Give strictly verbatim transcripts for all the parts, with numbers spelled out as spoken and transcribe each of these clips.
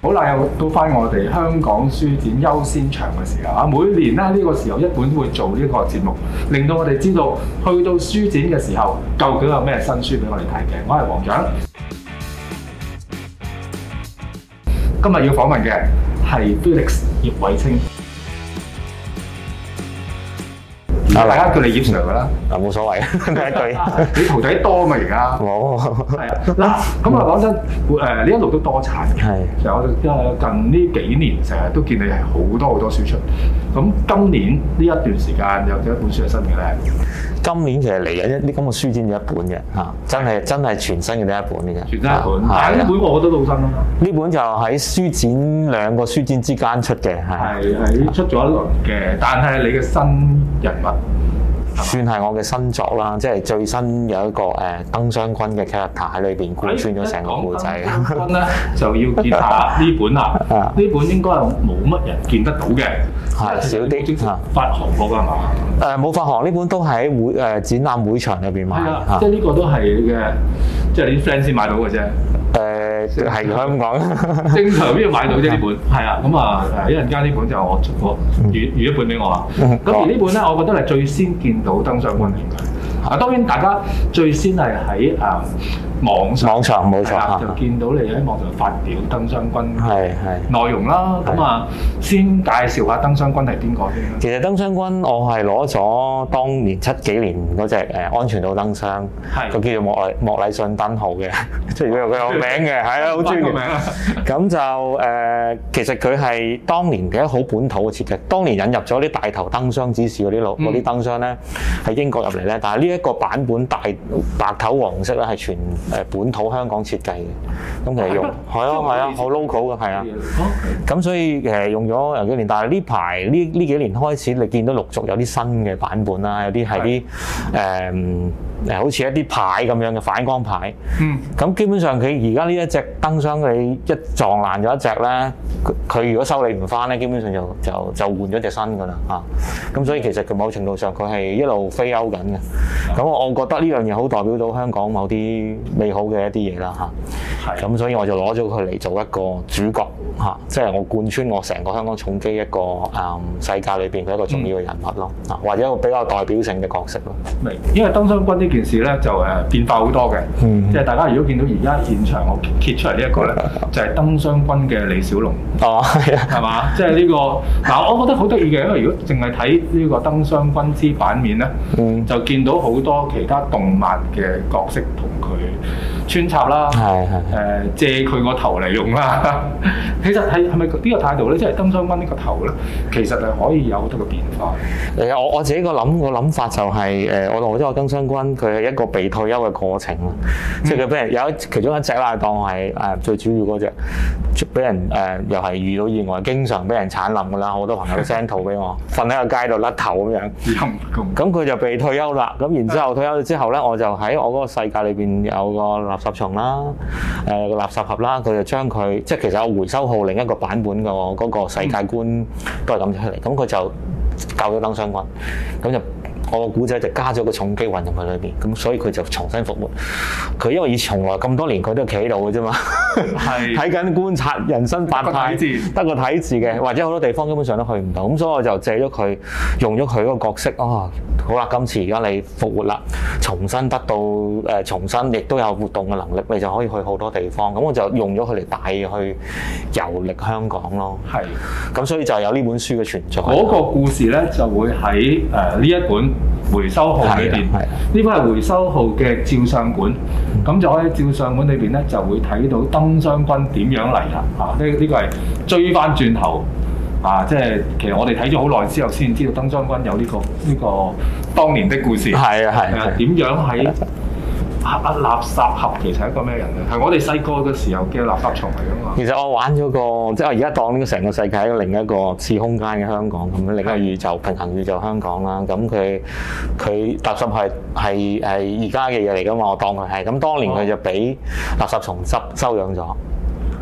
好啦，又到翻我哋香港書展優先場嘅時候啊！每年咧呢個時候一本都會做呢個節目，令到我哋知道去到書展嘅時候，究竟有咩新書俾我哋睇嘅。我係黃獎，今日要訪問嘅係 Felix 葉偉清。大家叫你葉 Sir 噶啦， 啊冇所謂，第一句。 你徒弟多嘛而家？ 冇。 係啊，嗱，咁啊講真，誒你一路都多產嘅。係。其實我哋近呢幾年成日都見你係好多好多書出。咁今年呢一段時間有幾多本書係新嘅咧？ 今年其實嚟緊一啲咁嘅書展有一本嘅嚇，真係真係全新嘅第一本嘅啫。 全新一本，但係呢本我覺得都好新啦。 呢本就喺書展兩個書展之間出嘅，係。係喺出咗一輪嘅，但係你嘅新人物。 算係我嘅新作啦，即係最新有一個誒燈箱君嘅 character 喺裏邊貫穿咗成個故仔。燈箱君咧就要見下呢本啦，呢本應該係冇乜人見得到嘅， 係少啲嚇。 發行過㗎係嘛？ 誒冇發行，呢本都喺會誒展覽會場裏邊買嚇。 即係呢個都係你嘅，即係你啲 friend 先買到嘅啫。 誒係香港正常邊度買到啫？呢本係啊，咁啊誒一陣間呢本就我我預預一本俾我啊。咁而呢本咧，我覺得係最先見到燈箱君嘅。啊，當然大家最先係喺誒網上， 網上冇錯， 就見到你喺網上發表燈箱君係係內容啦。咁啊，先介紹下燈箱君係邊個先。 其實燈箱君我係攞咗當年七幾年嗰隻誒安全島燈箱，佢叫做莫禮莫禮遜燈號嘅，即係佢有佢有名嘅，係啊，好專業名啊。咁就誒，其實佢係當年嘅好本土嘅設計。當年引入咗啲大頭燈箱指示嗰啲路嗰啲燈箱咧，喺英國入嚟咧，但係呢一個版本大白頭黃色咧係全誒本土香港設計嘅。咁其實用係啊係啊好 local 嘅係啊。咁所以誒用咗有幾年，但係呢排呢呢幾年開始，你見到陸續有啲新嘅版本啦，有啲係啲誒誒好似一啲牌咁樣嘅反光牌。嗯。咁基本上佢而家呢一隻燈箱，你一撞爛咗一隻咧，佢如果修理唔翻咧，基本上就就就換咗隻新㗎啦嚇。咁所以其實佢某程度上佢係一路飛歐緊嘅。咁我我覺得呢樣嘢好代表到香港某啲美好嘅一啲嘢啦嚇。係。咁所以我就攞咗佢嚟做一個主角嚇，即係我貫穿我成個香港重機一個誒世界裏邊嘅一個重要嘅人物咯，啊或者一個比較代表性嘅角色咯。明，因為燈箱君呢件事咧就誒變化好多嘅，嗯、即係大家如果見到而家現場我揭出嚟呢一個咧，就係燈箱君嘅李小龍。哦，係啊，係嘛？即係呢個嗱，我覺得好得意嘅，因為如果淨係睇呢個燈箱君之版面咧，嗯、就見到好多其他動漫嘅角色同佢穿插啦，係係誒借佢個頭嚟用啦。其實係係咪呢個態度咧？即係燈箱君呢個頭咧，其實係可以有好多個變化。誒，我我自己個諗個諗法就係、是、誒，我我覺得個燈箱君佢係一個被退休嘅過程咯。嗯、即係佢俾人有一其中一隻啦，當係誒最主要嗰隻，俾人誒、呃、又係遇到意外，經常俾人鏟冧㗎啦。好多朋友都 send 圖俾我，瞓喺個街度甩頭咁樣。咁佢就被退休啦。咁然之後退休咗之後咧，我就喺我嗰個世界裏邊有個垃圾蟲啦，誒、呃、個垃圾盒啦，佢就將佢即係其實有回收號另一個版本個嗰個世界觀都係咁出嚟。咁佢就救咗燈箱君，咁就我個古仔就加咗個重機運入去裏邊，咁所以佢就重新復活。佢因為以從來咁多年佢都企喺度嘅啫嘛，係睇緊觀察人生百態，得個睇字嘅，或者好多地方根本上都去唔到，咁所以我就借咗佢，用咗佢嗰個角色啊、哦，好啦，今次而家你復活啦，重新得到誒、呃、重新，亦都有活動嘅能力，你就可以去好多地方。咁我就用咗佢嚟帶去遊歷香港咯。係是，咁所以就有呢本書嘅存在。嗰個故事咧就會喺誒呢一本回收號裏邊，呢本係回收號嘅照相館，咁、嗯、就可以照相館裏邊咧就會睇到燈箱君點樣嚟啦。啊，呢、這、呢個係追翻轉頭啊！即係其實我哋睇咗好耐之後先知道燈箱君有呢、這個呢、這個當年的故事。係啊係啊，點樣喺啊垃圾盒其實係一個咩人咧？係我哋細個嘅時候嘅垃圾蟲嚟㗎嘛。其實我玩咗個，即係我而家當呢個成個世界係另一個次空間嘅香港咁樣，另一個宇宙平行宇宙香港啦。咁佢佢垃圾係係係而家嘅嘢嚟㗎嘛，我當佢係。咁當年佢就俾垃圾蟲執收養咗。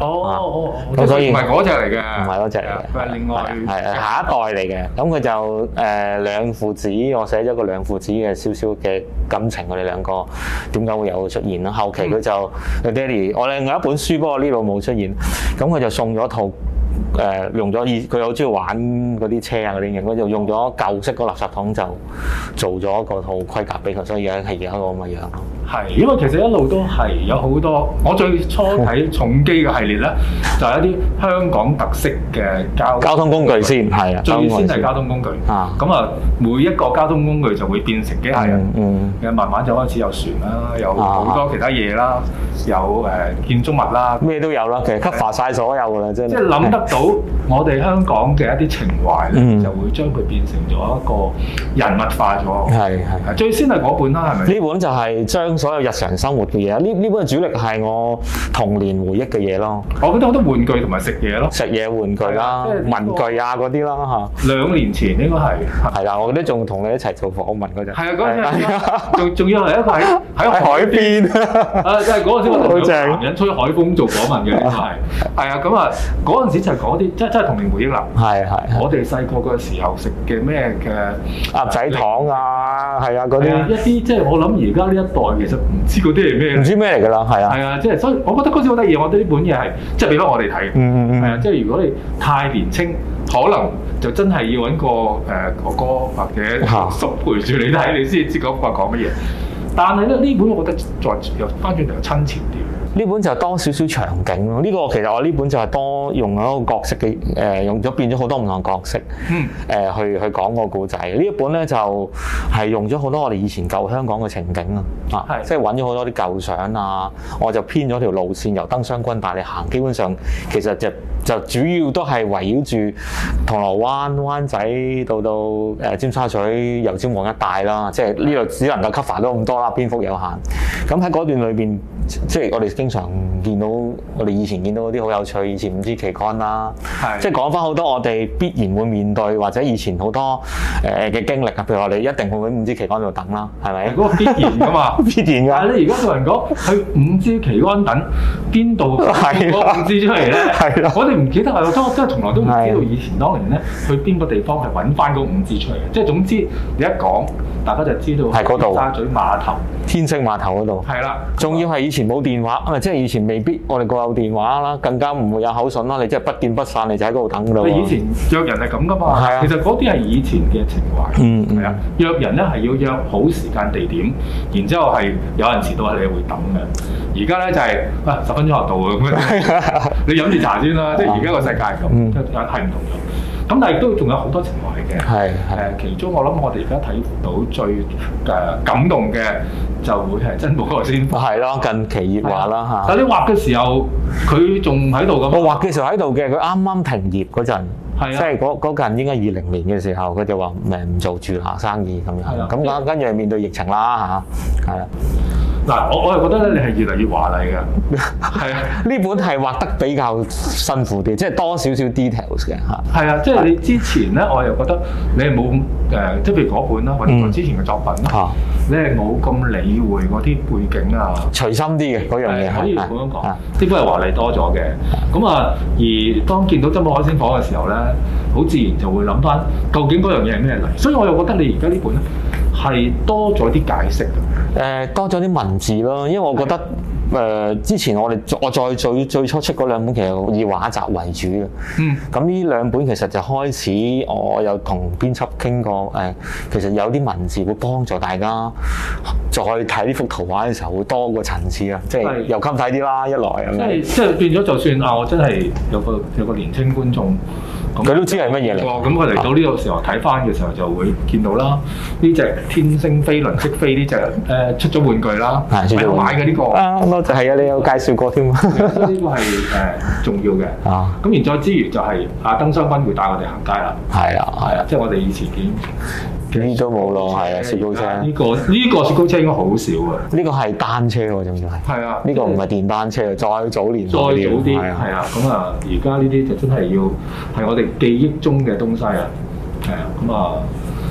哦哦哦， 咁所以唔係嗰隻嚟嘅， 唔係嗰隻嚟嘅， 佢係另外係係下一代嚟嘅。咁佢就誒兩父子，我寫咗個兩父子嘅少少嘅感情，佢哋兩個點解會有出現啦？後期佢就佢爹哋，我另外一本書不過呢度冇出現，咁佢就送咗套。誒、呃、用咗以佢好中意玩嗰啲車啊嗰啲嘢，佢就用咗舊式嗰垃圾桶就做咗個套盔甲俾佢，所以而家係而家個咁嘅樣咯。係， 因為其實一路都係有好多，我最初睇重機嘅系列咧，就係一啲香港特色嘅交交通工具先，係啊， 最先係交通工具啊。咁啊，每一個交通工具就會變成機械人，嗯，嗯慢慢就開始有船啦，有好多其他嘢啦，有誒、呃、建築物啦， 咩都有啦。其實 cover 曬所有㗎啦，真係。即係諗得到我哋香港嘅一啲情懷咧，嗯、就會將佢變成咗一個人物化咗。係係。最先係嗰本啦，係咪？呢本就係將所有日常生活嘅嘢，呢呢本主力係我童年回憶嘅嘢咯。 我覺得好多玩具同埋食嘢咯， 食嘢玩具啦、就是、文具啊嗰啲啦嚇。 兩年前應該係係啦，我記得仲同你一齊做訪問嗰陣。係啊， 嗰陣仲仲要係一個喺喺海邊啊，即係嗰陣時我哋兩個男人吹海風做訪問嘅，應該係係啊。咁啊嗰陣時就係講啲即係真係童年回憶啦。係係。我哋細個嘅時候食嘅咩嘅鴨仔糖啊，係啊嗰啲一啲即係我諗而家呢一代其實唔知嗰啲係咩， 唔知咩嚟㗎啦，係啊。係啊， 即係所以我覺得嗰時好得意，我覺得呢本嘢係即係俾翻我哋睇。嗯嗯嗯。係啊，即係如果你太年青，可能就真係要揾個誒哥哥或者叔陪住你睇，你先知嗰個講乜嘢。但係咧呢本我覺得再又翻轉頭又親切啲。 呢本就多少少場景咯。呢、這個其實我呢本就係多用一個角色嘅誒、呃，用咗變咗好多唔同角色，嗯，誒、呃、去去講個故仔。呢一本咧就係、是、用咗好多我哋以前舊香港嘅情景啊，啊，即係揾咗好多啲舊相啊，我就編咗條路線由燈箱軍帶你行，基本上其實就就主要都係圍繞住銅鑼灣、灣仔到到誒尖沙咀、油尖旺一帶啦，即係呢度只能夠 cover 到咁多啦，篇幅有限。咁喺嗰段裏邊，即係我哋經常見到我哋以前見到嗰啲好有趣，以前五支旗杆啦，即係講翻好多我哋必然會面對或者以前好多誒嘅經歷啊，譬如我哋一定會喺五支旗杆度等啦，係咪？嗰個必然噶嘛，必然㗎。但係你而家同人講去五支旗杆等，邊度攞五支出嚟咧？係啦，我哋唔記得啊，我真真係從來都唔知道以前當年咧去邊個地方係揾翻嗰五支出嚟嘅。即係總之你一講，大家就知道係嗰度，尖沙咀碼頭、天星碼頭嗰度。係啦，仲要係以前冇電話，即係以前未必我哋個有電話啦，更加唔會有口信啦。你即係不見不散，你就喺嗰度等㗎啦。以前約人係咁㗎嘛，其實嗰啲係以前嘅情懷。嗯嗯。係啊，約人咧係要約好時間地點，然之後係有人遲到係你會等嘅。而家咧就係啊十分鐘後到咁樣，你飲住茶先啦。即係而家個世界係咁，係唔同咗。咁但係亦都仲有好多情懷嘅。係係。誒，其中我諗我哋而家睇到最誒感動嘅就會係珍寶嗰個先。係咯，近期熱畫啦嚇。但係你畫嘅時候，佢仲喺度咁。我畫嘅時候喺度嘅，佢啱啱停業嗰陣。係啊。即係嗰嗰陣應該二零年嘅時候，佢就話誒唔做住下生意咁樣。咁跟跟住面對疫情啦嚇，係啊。嗱，我我係覺得咧，你係越嚟越華麗嘅，係啊，呢本係畫得比較辛苦啲，即係多少少 details 嘅嚇。係啊，即係你之前咧，我又覺得你係冇誒，即係譬如嗰本啦，或者之前嘅作品啦，嗯、你係冇咁理會嗰啲背景啊，隨心啲嘅嗰樣嘢，可以咁樣講，呢本係華麗多咗嘅。咁啊，而當見到珍寶海鮮舫嘅時候咧，好自然就會諗翻究竟嗰樣嘢係咩嚟，所以我又覺得你而家呢本咧係多咗啲解釋嘅。誒、呃、多咗啲文字咯，因為我覺得誒、呃、之前我哋我再最最初出嗰兩本其實以畫集為主嘅，嗯，咁呢兩本其實就開始我有同編輯傾過，誒、呃、其實有啲文字會幫助大家再睇呢幅圖畫嘅時候會多個層次啊，即係又襟睇啲啦，一來咁樣，即係即係變咗就算啊，我真係有個有個年青觀眾。佢都知係乜嘢嚟？咁佢嚟到呢個時候睇翻嘅時候就會見到啦。呢隻天星飛輪識飛呢隻誒出咗玩具啦，係我買嘅呢個。啊，多謝係啊，你有介紹過添啊。呢個係誒重要嘅。啊，咁然再之餘就係阿燈箱君會帶我哋行街啦。係啊，係啊，即係我哋以前見。呢都冇咯，係啊，雪糕車。呢個呢個雪糕車應該好少啊。呢個係單車喎，仲要係。係啊。呢個唔係電單車，再早年。再早啲。係啊。咁啊，而家呢啲就真係要係我哋記憶中嘅東西啊。係啊。咁啊，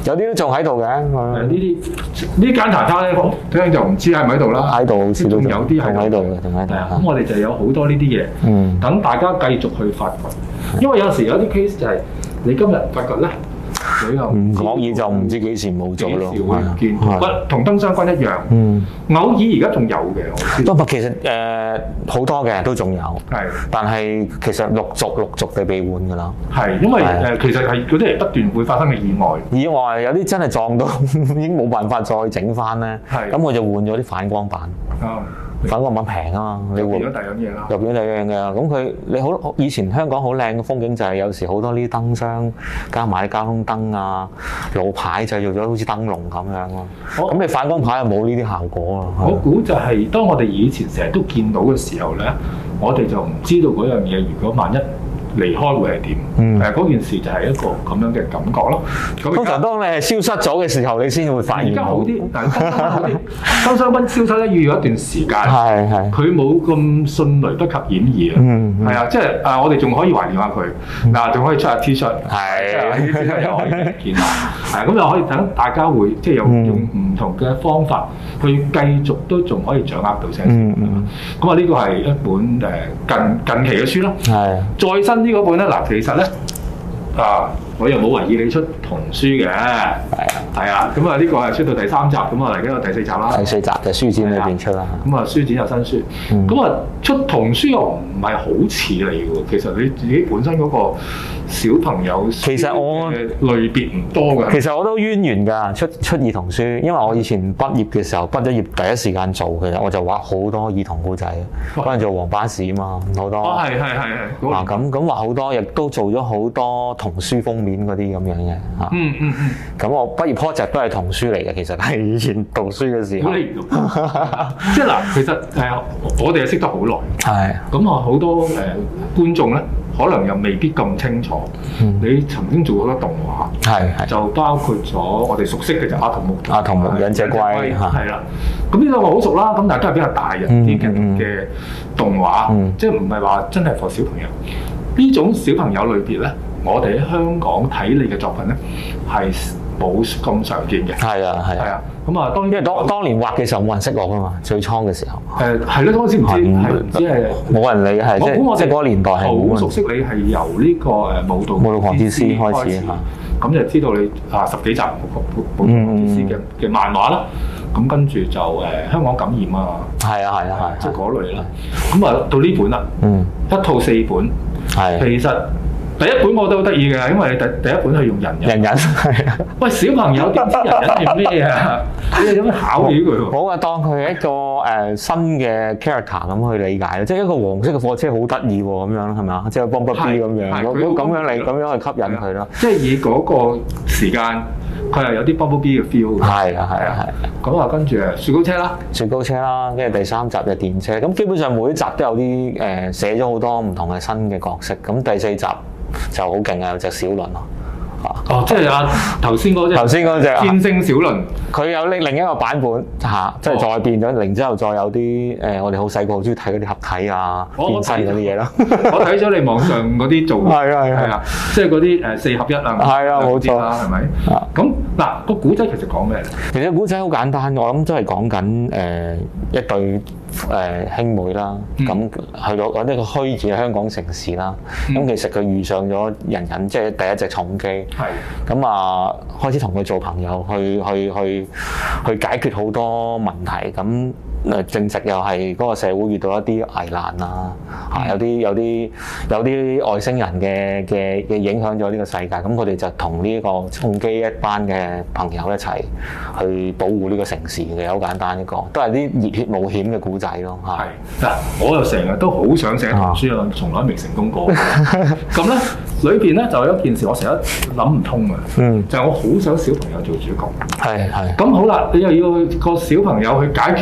有啲都仲喺度嘅。 呢啲呢間茶餐咧，聽就唔知喺唔喺度啦。 喺度好似都仲有啲喺度嘅，仲喺度。 咁我哋就有好多呢啲嘢， 嗯， 等大家繼續去發掘。因為有時有啲 case 就係你今日發覺咧。 唔講嘢就唔知幾時冇做咯， 幾時會唔見？不同燈箱君一樣， 嗯， 偶爾而家仲有嘅，我知。 不過其實誒好多嘅都仲有，係，但係其實陸續陸續地被換㗎啦。係，因為誒其實係嗰啲係不斷會發生嘅意外。意外有啲真係撞到已經冇辦法再整翻咧，係，咁我就換咗啲反光板。啊。反光板平啊嘛，你換咗第二樣嘢啦，又變咗第二樣嘅。咁佢你好以前香港好靚嘅風景就係有時好多呢啲燈箱加埋啲交通燈啊、路牌製造咗好似燈籠咁樣咯。咁你反光牌又冇呢啲效果啊。我估就係當我哋以前成日都見到嘅時候咧，我哋就唔知道嗰樣嘢如果萬一離開會係點？嗯，誒嗰件事就係一個咁樣嘅感覺咯。通常當你係消失咗嘅時候，你先會發現。而家好啲，但係燈箱好啲。燈箱蚊消失咧要有一段時間。係係。佢冇咁迅雷不及掩耳啊。嗯嗯。係啊，即係誒，我哋仲可以懷念下佢。嗱，仲可以出下 T 恤。係。呢啲 T 恤又可以見下。係咁又可以等大家會即係有用唔同嘅方法去繼續都仲可以掌握到聲。嗯嗯。咁啊，呢個係一本誒近近期嘅書啦。係。再新呢嗰本咧，嗱，其實咧啊，我又冇懷疑你出童書嘅，係啊，係啊，咁啊呢個係出到第三集，咁啊嚟緊有第四集啦。第四集就書展裏邊出啦。咁啊書展有新書，咁啊、嗯、出童書又唔係好似你喎，其實你自己本身嗰個小朋友其實我類別唔多㗎。其實我都淵源㗎，出出兒童書，因為我以前畢業嘅時候，畢咗業第一時間做嘅，我就畫好多兒童故仔，嗰陣做黃巴士啊嘛，好多。哦，係係係係。啊咁咁畫好多，亦都做咗好多童書封面嗰啲咁樣嘅嚇。嗯嗯嗯。咁我畢業 project 都係童書嚟嘅，其實係以前讀書嘅時候。即係嗱，其實誒我哋係識得好耐。係。咁啊好多誒觀眾咧，可能又未必咁清楚。嗯、你曾經做過好多動畫，係係就包括咗我哋熟悉嘅就阿童木、阿童木、忍者龜，係啦。咁呢兩個好熟啦，咁但係都係比較大人啲嘅嘅動畫，嗯、即係唔係話真係 for 小朋友。呢種小朋友類別咧，我哋喺香港睇你嘅作品咧係冇咁常見嘅。係啊係啊。咁啊，當然因為當當年畫嘅時候冇人識我噶嘛，最初嘅時候。誒係咯，當時唔知係唔知係冇人理係即係即係嗰個年代係好熟悉你係由呢個誒舞蹈舞蹈狂之詩開始嚇，咁就知道你啊十幾集舞蹈狂之詩嘅嘅漫畫啦，咁跟住就誒香港感染啊，係啊係啊係，即係嗰類啦。咁啊到呢本啦，嗯，一套四本，係其實。第一本我都好得意嘅，因為你第第一本係用人人，人人係啊。喂，小朋友點知人人係咩啊？你哋有咩考起佢喎？好啊，當佢係一個誒新嘅 character 咁去理解咯，即係一個黃色嘅貨車好得意喎，咁樣係咪啊？即係幫不 B 咁樣，咁咁樣嚟咁樣去吸引佢咯。即係以嗰個時間，佢係有啲 Bumblebee 嘅 feel 嘅。係啊，係啊，係。咁啊，跟住誒雪糕車啦，雪糕車啦，跟住第三集嘅電車。咁基本上每一集都有啲誒寫咗好多唔同嘅新嘅角色。咁第四集就好勁啊！有隻小輪咯，哦，即係啊頭先嗰隻頭先嗰隻天星小輪，佢有另另一個版本嚇，即係再變咗，然之後再有啲誒，我哋好細個好中意睇嗰啲合體啊、變身嗰啲嘢咯。我睇咗你網上嗰啲做，係啊係啊，即係嗰啲誒四合一啊，係啊冇錯啦，係咪？咁嗱個古仔其實講咩咧？其實古仔好簡單，我諗都係講緊誒一對誒兄妹啦，咁去到嗰啲個虛擬嘅香港城市啦，咁其實佢遇上咗人人，即係第一隻重機，係咁啊開始同佢做朋友，去去去去解決好多問題，咁誒正值又係嗰個社會遇到一啲危難啊，嚇有啲有啲有啲外星人嘅嘅嘅影響咗呢個世界，咁佢哋就同呢個重機一班嘅朋友一齊去保護呢個城市嘅，好簡單一個，都係啲熱血冒險嘅故仔咯，係嗱，我又成日都好想寫童書啊，從來未成功過。咁咧裏邊咧就有一件事我成日諗唔通嘅，嗯，就係我好想小朋友做主角，係係。咁好啦，你又要個小朋友去解決啲大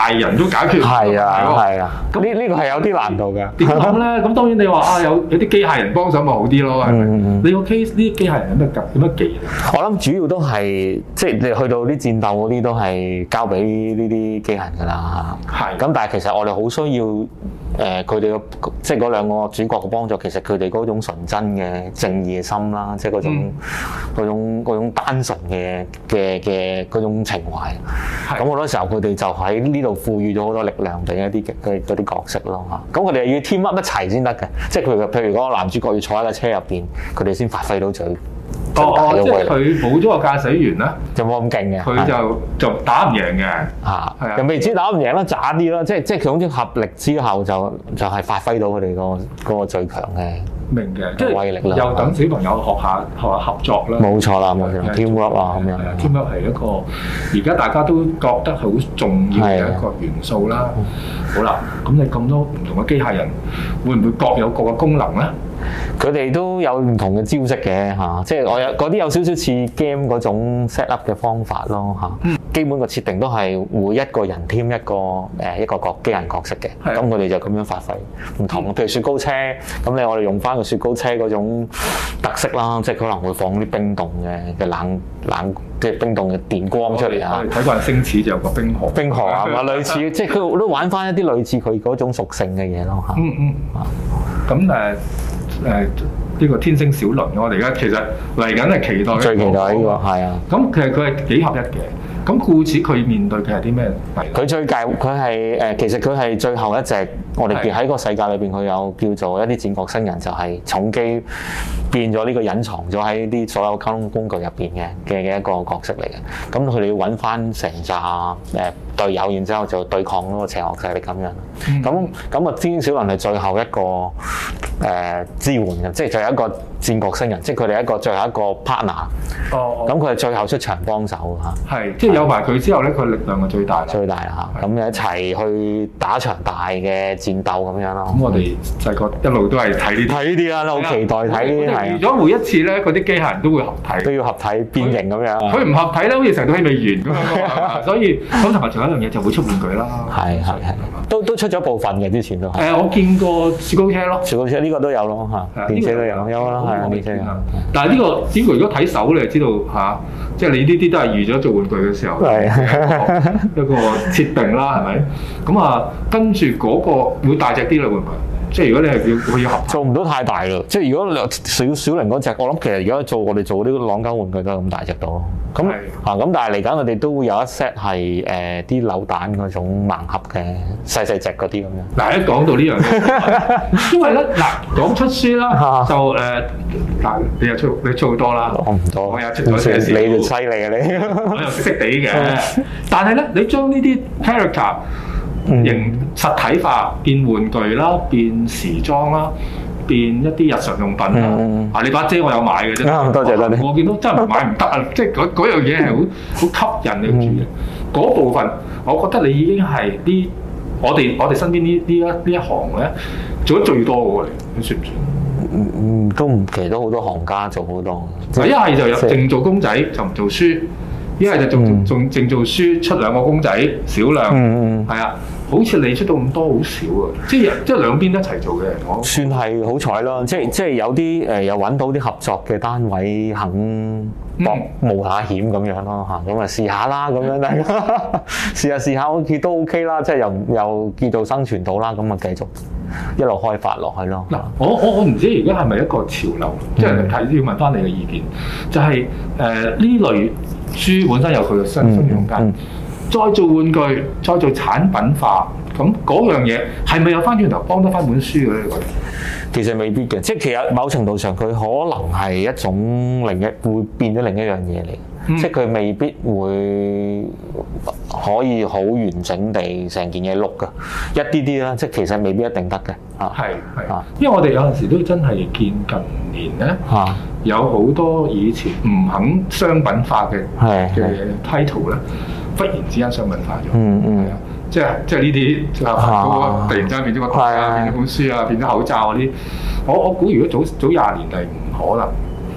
械人都解決唔到。 係啊係啊，咁呢呢個係有啲難度㗎。 點講咧？咁當然你話啊，有有啲機械人幫手咪好啲咯，係咪？嗯、你個 case 呢啲機械人有咩技有咩技能？ 我諗主要都係即係你去到啲戰鬥嗰啲都係交俾呢啲機械人㗎啦。係。咁但係其實我哋好需要誒佢哋嘅即係嗰兩個主角嘅幫助，其實佢哋嗰種純真嘅正義嘅心啦，即係嗰種嗰、嗯、種嗰種單純嘅嘅嘅嗰種情懷。咁好多時候佢哋就喺呢度賦予咗好多力量俾一啲嘅嗰啲角色咯嚇。咁佢哋要 team up 一齊先得嘅，即係譬如譬如嗰個男主角要坐喺架車入邊，佢哋先發揮到最。 哦哦，即係佢冇咗個駕駛員咧， 就冇咁勁嘅， 佢就就打唔贏嘅， 嚇，係啊，又未知打唔贏啦，渣啲啦，即係即係佢總之合力之後就就係發揮到佢哋個嗰個最強嘅。 明嘅，即係又等小朋友學下學下合作啦。冇錯啦，冇錯 ，teamwork 啊咁樣。 teamwork 係一個而家大家都覺得好重要嘅一個元素啦。好啦，咁你咁多唔同嘅機械人，會唔會各有各嘅功能咧？ 佢哋都有唔同嘅招式嘅嚇，即係我有嗰啲有少少似 game 嗰種 set up 嘅方法咯嚇。嗯、基本個設定都係會一個人添一個誒一個角機人角色嘅，咁佢哋就咁樣發揮唔同。譬如雪糕車，咁你我哋用翻個雪糕車嗰種特色啦，即係可能會放啲冰凍嘅嘅冷冷即係冰凍嘅電光出嚟啊！ 睇慣星矢就有個冰河， 冰河啊嘛，類似即係佢都玩翻一啲類似佢嗰種屬性嘅嘢咯嚇。嗯嗯。 咁誒。誒呢個天星小輪，我哋而家其實嚟緊係期待， 最期待呢個係啊。 咁其實佢係幾合一嘅。咁故此佢面對嘅係啲咩？ 佢最介佢係誒，其實佢係最後一隻。我哋喺個世界裏邊，佢有叫做一啲戰國新人，就係重機變咗呢個隱藏咗喺啲所有溝通工具入邊嘅嘅嘅一個角色嚟嘅。咁佢哋要揾翻成紮誒隊友，然之後就對抗嗰個邪惡勢力咁樣。咁咁啊，天星小輪係最後一個誒、呃、支援嘅，即係最後一個戰國新人，即係佢哋一個最後一個 partner。哦。咁佢係最後出場幫手嚇。係，即係有埋佢之後咧，佢力量係最大。最大啦嚇。咁一齊去打場大嘅戰鬥咁樣咯。咁我哋細個一路都係睇呢睇呢啲啦，都好期待睇呢啲係。如果每一次咧，嗰啲機械人都會合體，都要合體變形咁樣。佢唔合體咧，好似成套戲未完咁樣。所以咁同埋仲有一樣嘢就會出玩具啦。係係係。都都出咗部分嘅之前都係。誒，我見過雪糕車咯。雪糕車呢個都有咯嚇，電車都有有啦，係啊，電車有。但係呢個呢個如果睇手你就知道嚇，即係你呢啲都係預咗做玩具嘅時候一個設定啦，係咪？咁啊，跟住嗰個會大隻啲啦，會唔會？即係如果你係要佢要合做唔到太大咯。即係如果小小齡嗰隻，我諗其實而家做我哋做呢個朗膠玩具都係咁大隻到咯。咁嚇咁，但係嚟緊我哋都會有一 set 係誒啲扭蛋嗰種盲盒嘅細細隻嗰啲咁樣。嗱，一講到呢樣嘢，因為咧嗱講出書啦，就誒嗱你又出你出好多啦，我唔多，我又出咗少少。你就犀利啊你！我又識識地嘅，但係咧你將呢啲 character 形實體化，變玩具啦，變時裝啦，變一啲日常用品啦。嗯、啊，你把遮我有買嘅啫、嗯。多謝多謝。我見到真係買唔得啊！即係嗰嗰樣嘢係好好吸引你住嘅。嗰、嗯、部分，我覺得你已經係啲我哋我哋身邊呢呢一呢一行咧做得最多嘅喎，你算唔算？嗯嗯，都唔，其實都好多行家做好多。一係就有淨做公仔就唔做書，一係就仲仲淨做書出兩個公仔少量。嗯嗯，係啊。好似你出到咁多好少啊！即係即係兩邊一齊做嘅，我算係好彩咯。即係即係有啲誒，又揾到啲合作嘅單位肯搏冒下險咁樣咯嚇。咁啊試下啦，咁樣大家試下試下，好似都 OK 啦。即係又又叫做生存到啦，咁啊繼續一路開發落去咯。嗱，我我我唔知而家係咪一個潮流，即係睇要問翻你嘅意見。就係誒呢類書本身有佢嘅生存空間。再做玩具，再做產品化，咁嗰樣嘢係咪有翻轉頭幫得翻本書嘅咧？你覺得？其實未必嘅，即係其實某程度上佢可能係一種另一會變咗另一樣嘢嚟，嗯、即係佢未必會可以好完整地成件嘢碌㗎，一啲啲啦，即係其實未必一定得嘅。啊，係係啊，因為我哋有陣時都真係見近年咧，啊、有好多以前唔肯商品化嘅嘅 title 咧。忽然之間商品化咗，嗯嗯，係啊，即係即係呢啲啊，突然之間變咗個台啊，變咗本書啊，變咗口罩嗰啲，我我估如果早早廿年係唔可能，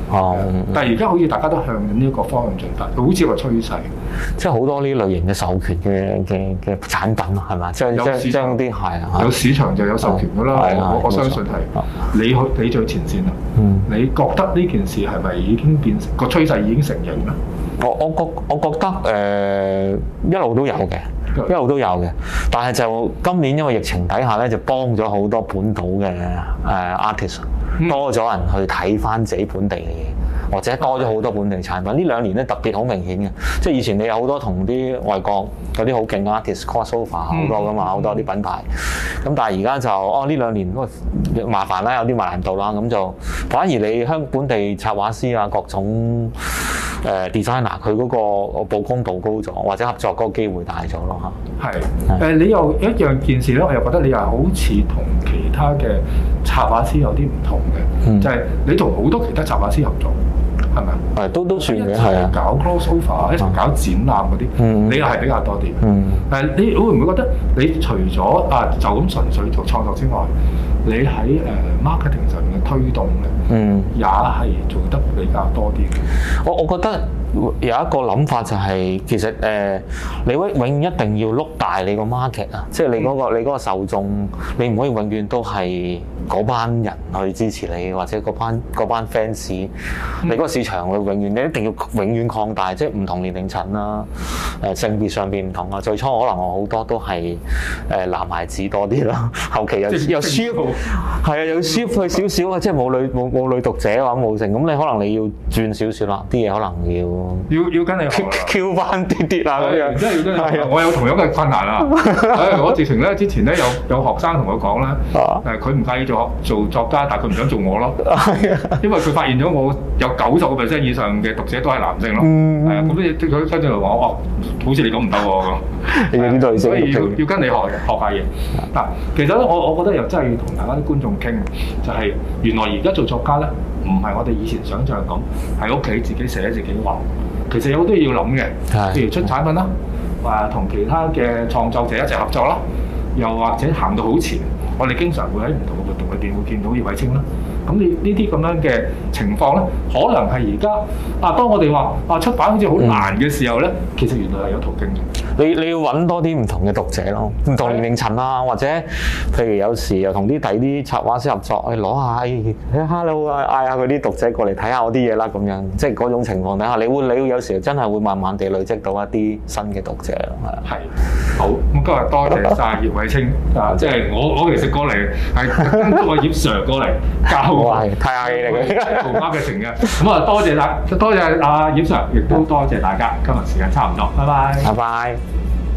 哦， 但係而家好似大家都向緊呢一個方向進發，好似個趨勢。 即係好多呢類型嘅授權嘅嘅嘅產品係嘛？將將將啲係啊， 有市場就有授權㗎啦。我我相信係你去你最前線啦。嗯，你覺得呢件事係咪已經變成個趨勢已經成型咧？ 我我覺我覺得誒、呃、一路都有嘅，一路都有嘅。但係就今年因為疫情底下咧，就幫咗好多本土嘅誒 artist，多咗人去睇翻自己本地嘅嘢，或者多咗好多本地產品。呢兩年咧特別好明顯嘅，即係以前你有好多同啲外國嗰啲好勁嘅 artist crossover 好多噶嘛，好多啲品牌。咁但係而家就哦呢兩年麻煩啦，有啲難度啦，咁就反而你香本地插畫師啊各種。誒、uh, designer 佢嗰個曝光度高咗，或者合作嗰個機會大咗咯嚇。係誒、呃，你又一樣件事咧，我又覺得你又好似同其他嘅插畫師有啲唔同嘅，嗯、就係你同好多其他插畫師合作，係咪啊？係都都算嘅，係啊。搞 crossover 一齊搞展覽嗰啲，嗯、你又係比較多啲。嗯。誒，你會唔會覺得你除咗啊就咁純粹做創作之外，你喺誒 marketing 上面嘅推動咧，嗯，也係做得比較多啲嘅。我我覺得有一個諗法就係、是，其實誒、呃，你永永遠一定要碌大你個 market 啊，即係你嗰、那個、嗯、你嗰個受眾，你唔可以永遠都係嗰班人去支持你，或者嗰班嗰班 fans，、嗯、你嗰個市場會永遠你一定要永遠擴大，即係唔同年齡層啦，誒、呃、性別上邊唔同啊。最初可能我好多都係誒男孩子多啲啦，後期又又 shift 係啊，又 shift 去少少啊，即係冇女冇冇女讀者或者冇成，咁你可能你要轉少少啦，啲嘢可能要。要要跟你學啦 ，Q 翻啲啲啊咁樣，真係要跟你學。我有同樣嘅困難啊！我直情咧之前咧有有學生同我講啦，誒佢唔介意做做作家，但係佢唔想做我咯。因為佢發現咗我有九十個 percent 以上嘅讀者都係男性咯。係啊，咁啲佢跟住嚟話我，好似你咁唔得喎咁。咁所以要要跟你學學下嘢。嗱，其實咧我我覺得又真係要同大家啲觀眾傾，就係原來而家做作家咧，唔係我哋以前想象咁喺屋企自己寫自己畫。其實有好多嘢要諗嘅，譬如出產品啦，話同其他嘅創作者一齊合作啦，又或者行到好前，我哋經常會喺唔同嘅活動裏邊會見到葉偉清啦。咁你呢啲咁樣嘅情況咧，可能係而家啊，當我哋話啊出版好似好難嘅時候咧，嗯、其實原來係有途徑嘅。你你要揾多啲唔同嘅讀者咯，唔同年齡層啊，或者譬如有時又同啲第啲插畫師合作，去攞下誒 hello 啊，嗌下嗰啲讀者過嚟睇下我啲嘢啦，咁樣即係嗰種情況底下，你會你會有時真係會慢慢地累積到一啲新嘅讀者咯，係。係。好，咁今日多謝晒葉偉清啊！即係我我其實過嚟係跟咗個葉 Sir 過嚟教我，係太客氣嚟嘅，做 marketing嘅。咁啊，多謝大，多謝阿葉 Sir，亦都多謝大家。今日時間差唔多，拜拜。拜拜。